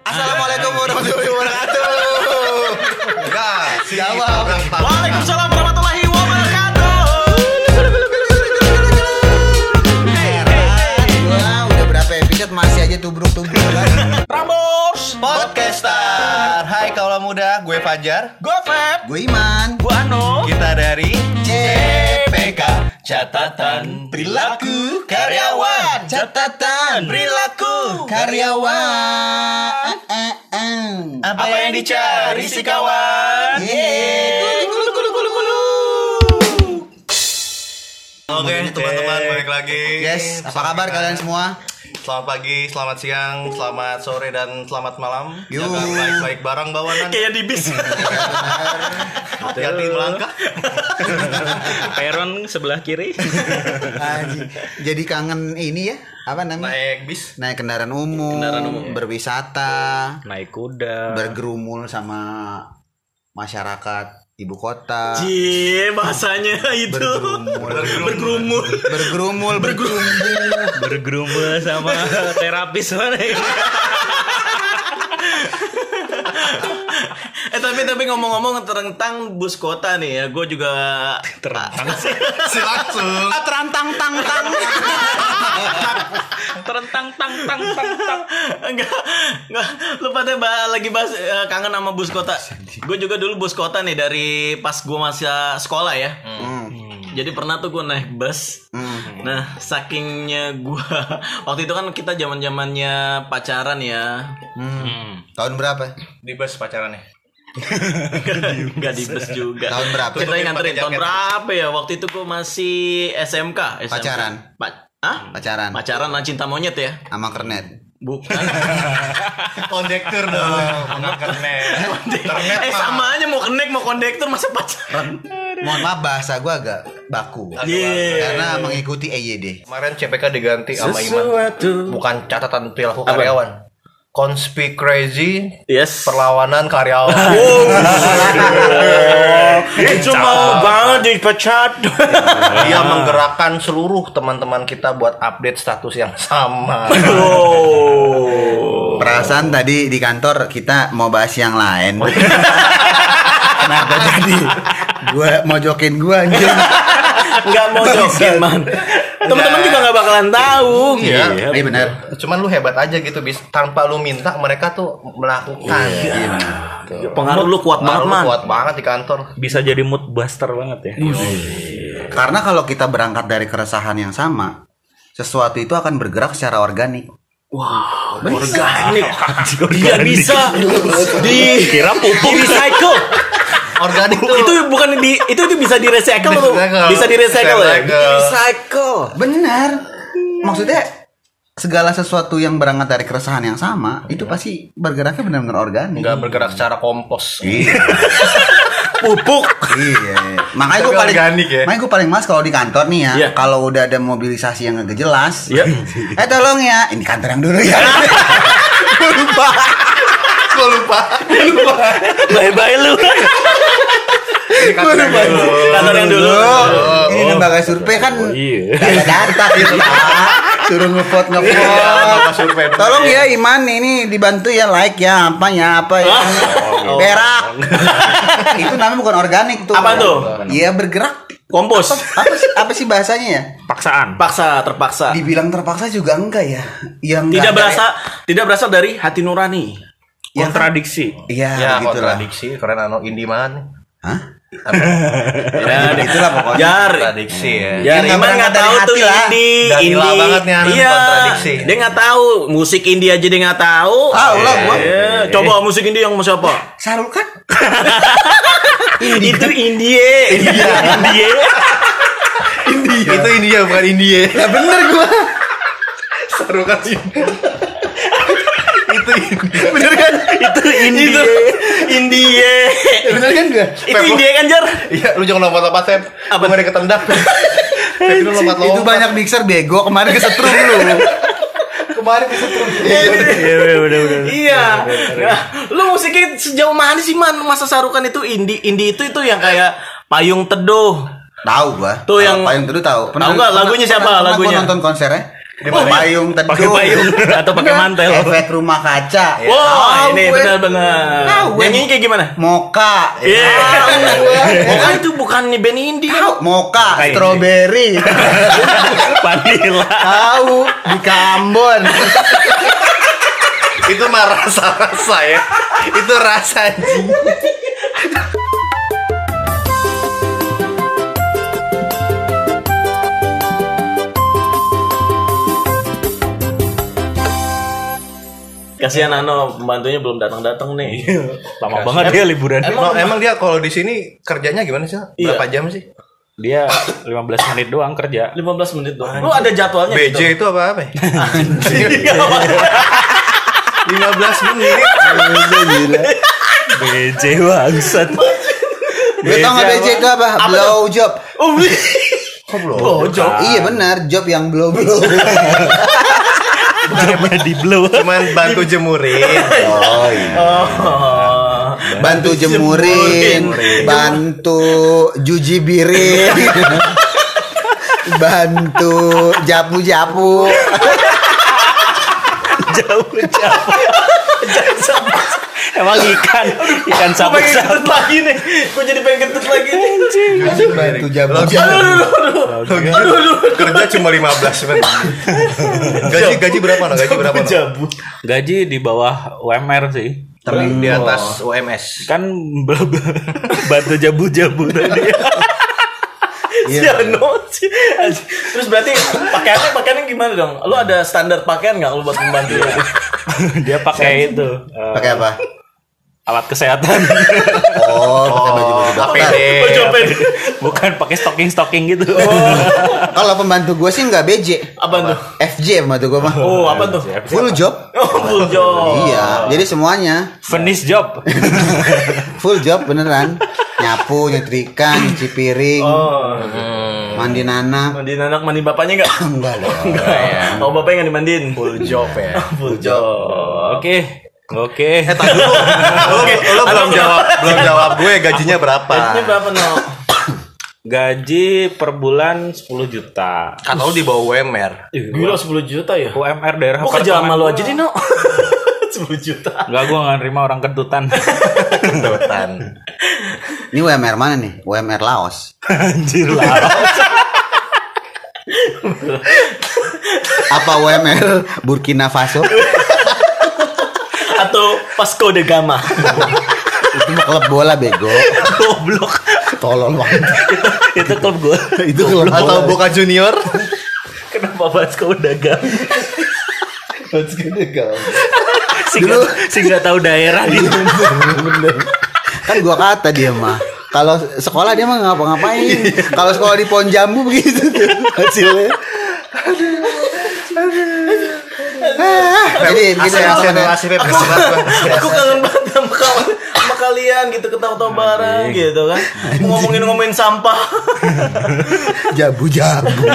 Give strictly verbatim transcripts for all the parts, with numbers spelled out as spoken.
Assalamualaikum warahmatullahi wabarakatuh. Enggak, jawab. Waalaikumsalam warahmatullahi wabarakatuh. Wah, udah berapa episode masih aja tubruk-tubruk kan. Prambors Podcaster. Hai kaula muda, gue Fajar, Gue Feb, Gue Iman. gue Anu. kita dari C P K Catatan Perilaku Karyawan. Catatan Perilaku karyawan. Apa yang dicari si kawan? Yeay. Kulu kulu kulu kulu. Oke teman-teman, balik lagi. Yes, apa kabar kalian semua? Selamat pagi, selamat siang, selamat sore, dan selamat malam. Yuk. Jaga baik-baik barang bawanan. Kayak di bis. Hati-hati melangkah. Peron sebelah kiri. Anjing. Jadi kangen ini ya? Apa namanya? Naik bis. Naik kendaraan umum, Kendaraan umum. berwisata, Naik kuda. bergerumul sama masyarakat ibu kota. Cie, bahasanya itu. Bergerumul, Bergerumul. bergerumul, bergerumul. Bergerumul sama terapis mana ya? Eh tapi tapi ngomong-ngomong tentang bus kota nih ya, gue juga terentang sih. Si langsung. Ah, terantang tang tang. Terentang tang tang tang tang. Enggak, enggak. Lu pada bah- lagi bahas eh, kangen sama bus kota. Gue juga dulu bus kota nih dari pas gue masih sekolah ya. Hmm. Jadi pernah tuh gue naik bus. Hmm. Nah, sakingnya gue waktu itu kan kita zaman-zamannya pacaran ya. Hmm. Tahun berapa? Di bus pacarannya. Enggak di bus juga. Tahun berapa? Kita yang nganterin Pakai tahun jaket. berapa ya? Waktu itu gue masih S M K, S M K. Pacaran? Pa- Hah? Pacaran Pacaran lah cinta monyet ya? sama kernet. Bukan. Kondektur dong, bukan kernet. Kernet eh mah. sama aja mau connect mau kondektur masa pacaran. Mohon maaf bahasa gue agak baku Iya. karena mengikuti E Y D. Kemarin C P K diganti sama Iman. Sesuatu. Bukan catatan perilaku Apa? karyawan. Conspiracy crazy Yes. perlawanan karyawan. Itu mau banget dipecat. Dia menggerakkan seluruh teman-teman kita buat update status yang sama. Oh. Perasaan tadi di kantor kita mau bahas yang lain. Kenapa jadi gue mau jokin gue anjing? Enggak mau jokin, Man. Teman-teman juga enggak bakalan tahu. Iya, Iya benar. Cuman lu hebat aja gitu, bis. Tanpa lu minta mereka tuh melakukan. Iya benar. Pengaruh lu kuat banget, Pengaruh lu Man. kuat banget di kantor. Bisa jadi mood buster banget ya. Karena kalau kita berangkat dari keresahan yang sama, sesuatu itu akan bergerak secara organik. Wow, organik. Dia bisa di Kira pupuk. di recycle. Organik tuh. Itu bukan di itu itu bisa di recycle tuh. Recycle. Bisa di recycle ya. Recycle. Recycle. Benar. Maksudnya segala sesuatu yang berangkat dari keresahan yang sama itu pasti bergeraknya benar-benar organik. Enggak bergerak secara kompos. Iya. Pupuk. Iya. Makanya gue Tapi paling organik ya. makanya gue paling males kalau di kantor nih ya. Iya. Kalau udah ada mobilisasi yang agak jelas. Iya. Eh tolong ya, ini kantor yang dulu ya. Gue lupa. Gue lupa. Bye-bye lu. Gue lupa. Kantor yang dulu. Ini lembaga survei kan Iya. gak ada data gitu Pak. Suruh ngevote Lembaga ngevote. survei. Tolong ya Iman ini dibantu ya like ya apa ya apa ya. Berak. Itu namanya bukan organik tuh. Apa tuh? Iya bergerak. Kompos. Apa sih, apa sih bahasanya ya? Paksaan. Paksa, terpaksa. Dibilang terpaksa juga enggak ya. Yang Tidak nggak ada- berasal tidak berasal dari hati nurani. Ya, Kontradiksi. Iya, Ya, begitulah. kontradiksi karena anu Indiman. Hah? Ya, Itulah pokoknya. Jar. Kontradiksi ya. Ya, Dia nggak Iman berangkat nggak dari tahu tuh hati lah. indie, Dan gila indie. banget nih anak Iya, kontradiksi. dia nggak tahu musik indie aja dia nggak tahu. Tahu lah gua. Iya, coba musik indie yang mau siapa? Sarul kan? Itu indie. Indie. India. Itu India bukan India. Ya bener gua. Seru kan sih. Itu India. Bener kan? Itu indie. Indie. Bener kan gua? Itu indie kan, Jar? Iya, lu jangan lompat-lompat, Sep. Apa? Apa ketendak? Tapi lu lompat-lompat. Itu banyak mixer bego kemarin kesetrum lu. Kemarin kesetrum. Iya, udah udah. Iya. Nah, lu musiknya sejauh mana sih, Man? Masa Sarukan itu indie indie itu itu yang kayak Payung Teduh. Tahu gua. Tuh Kalau yang- Payung Teduh tahu. Tahu nggak lagunya siapa pernah, lagunya? Gua nonton konsernya. Di payung teduh. Pakai payung atau pakai mantel. Efek rumah kaca. Wah, Tahu ini gue. benar-benar. Tahu gue. Nyanyinya kayak gimana? Moka. Iya. Tahu gue. Moka itu bukan nih band indie. Tahu Moka, Kayak ini. strawberry. Vanilla. Tahu di Kambon. Itu mah rasa-rasa ya. Itu rasa anjing. Kasihan Ano, pembantunya belum datang-datang nih. Lama banget dia liburan. Emang, emang dia kalau di sini kerjanya gimana sih? Iya. Berapa jam sih? Dia lima belas menit doang kerja. lima belas menit doang. Lu ada jadwalnya B J gitu? itu apa apa? lima belas menit. B J bangsat. Gue tau gak B J itu apa? Blow job. Oh, Kok belum? oh, job. Iya benar, job yang blow blow. Jobnya di blow. Cuman bantu jemurin. Oh iya. Oh. Bantu jemurin, bantu juji birin, bantu japu-japu. Jauh-jauh. Emang ikan, ikan Gue pengen sabut-sabut. kentut lagi nih. Gue jadi pengen kentut lagi nih. Bantu japu-japu. Lo gitu, kerja cuma lima belas menit. Gaji gaji berapa? No? Gaji berapa? No? Jabu. Gaji di bawah U M R sih. Tapi di atas U M S. Kan bla- bla- bantu jabu-jabu tadi. Si Ano sih. Terus berarti pakaiannya pakaiannya gimana dong? Lu ada standar pakaian nggak lu buat membantu? Dia pakai itu. eh, Pakai apa? alat kesehatan. Oh, pakai baju-baju A P D. dokter. Baju apa ini? Bukan pakai stocking-stocking gitu. Kalau pembantu gue sih nggak B J. Apa tuh? F J pembantu gue mah. Oh, apa tuh? Full job. Oh, full job. Iya, jadi semuanya Finish job. full job beneran. Nyapu, nyetrika, nyuci piring, Oh. mandi anak. Mandi anak, mandi bapaknya enggak? Enggak dong. Enggak ya. Oh, bapaknya enggak dimandiin. Full job ya. Full job. Oke. Oke. Eh tadi dulu. Lo, lo belum jawab, belum jawab gue gajinya berapa? Gajinya berapa, No? Gaji per bulan sepuluh juta. Kata lo di bawah U M R. Gila sepuluh juta ya? U M R daerah Kok kerja sama apartemen lu gua. aja nih, No? sepuluh juta. Enggak, gua enggak nerima orang kentutan. Kentutan. Ini U M R mana nih? U M R Laos. Anjir lah. Apa U M R Burkina Faso? Atau Vasco da Gama. Itu mah klub bola bego. Goblok. Tolol banget. itu itu klub gua. Itu klub Atau bola. Boca Junior? Kenapa Vasco dagang? Si Dulu- nggak- si nggak tahu daerah dia. Bener. Kan gua kata dia mah. Kalau sekolah dia mah ngapa-ngapain. Kalau sekolah di pohon jambu begitu tuh hasilnya. Ah, jadi gitu ya. Asal asal Pep. Aku kangen banget sama kawan sama kalian gitu ketawa-tawa bareng gitu kan. Ngomongin-ngomongin sampah. Jabu-jabu.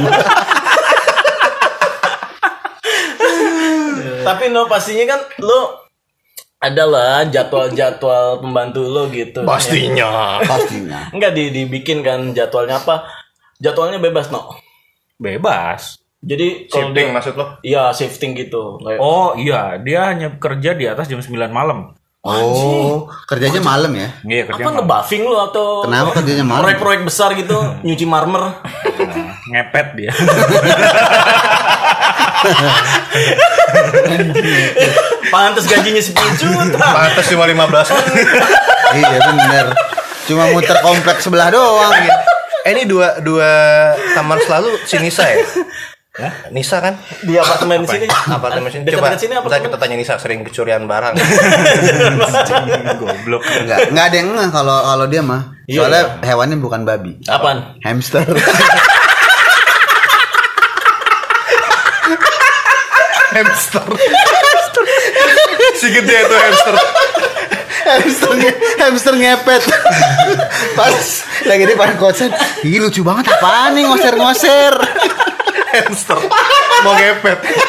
Tapi no pastinya kan lo adalah jadwal-jadwal pembantu lo gitu. Pastinya. Pastinya. Enggak di dibikin kan jadwalnya apa? Jadwalnya bebas, No. Bebas. Jadi kalau Shifting dia- maksud lo? Iya, shifting gitu. Kayak- Oh iya, dia hanya kerja di atas jam sembilan malam. Oh, kerjanya malam ya? Iya, kerja apa malam. ngebuffing lu atau Kenapa kerjanya malam? proyek-proyek besar gitu nyuci marmer? Nah, ngepet dia. Pantes gajinya sepuluh juta. Pantes cuma lima belas menit. Iya bener. Cuma muter kompleks sebelah doang. Eh, ini dua dua kamar selalu si Nisa ya? Nisa kan? Di apartemen sini. Apartemen sini. Dekat Coba dekat sini kita, apartemen. kita tanya Nisa sering kecurian barang. Goblok. Enggak, enggak ada yang ngeh kalau kalau dia mah. Iya, Soalnya hewannya bukan babi. Apaan? Hamster. Hamster. Si gede tuh hamster. hamster, nge- hamster ngepet. Pas lagi di depan kosan. Ih lucu banget apaan nih ngoser-ngoser. Hamster. Mau ngepet.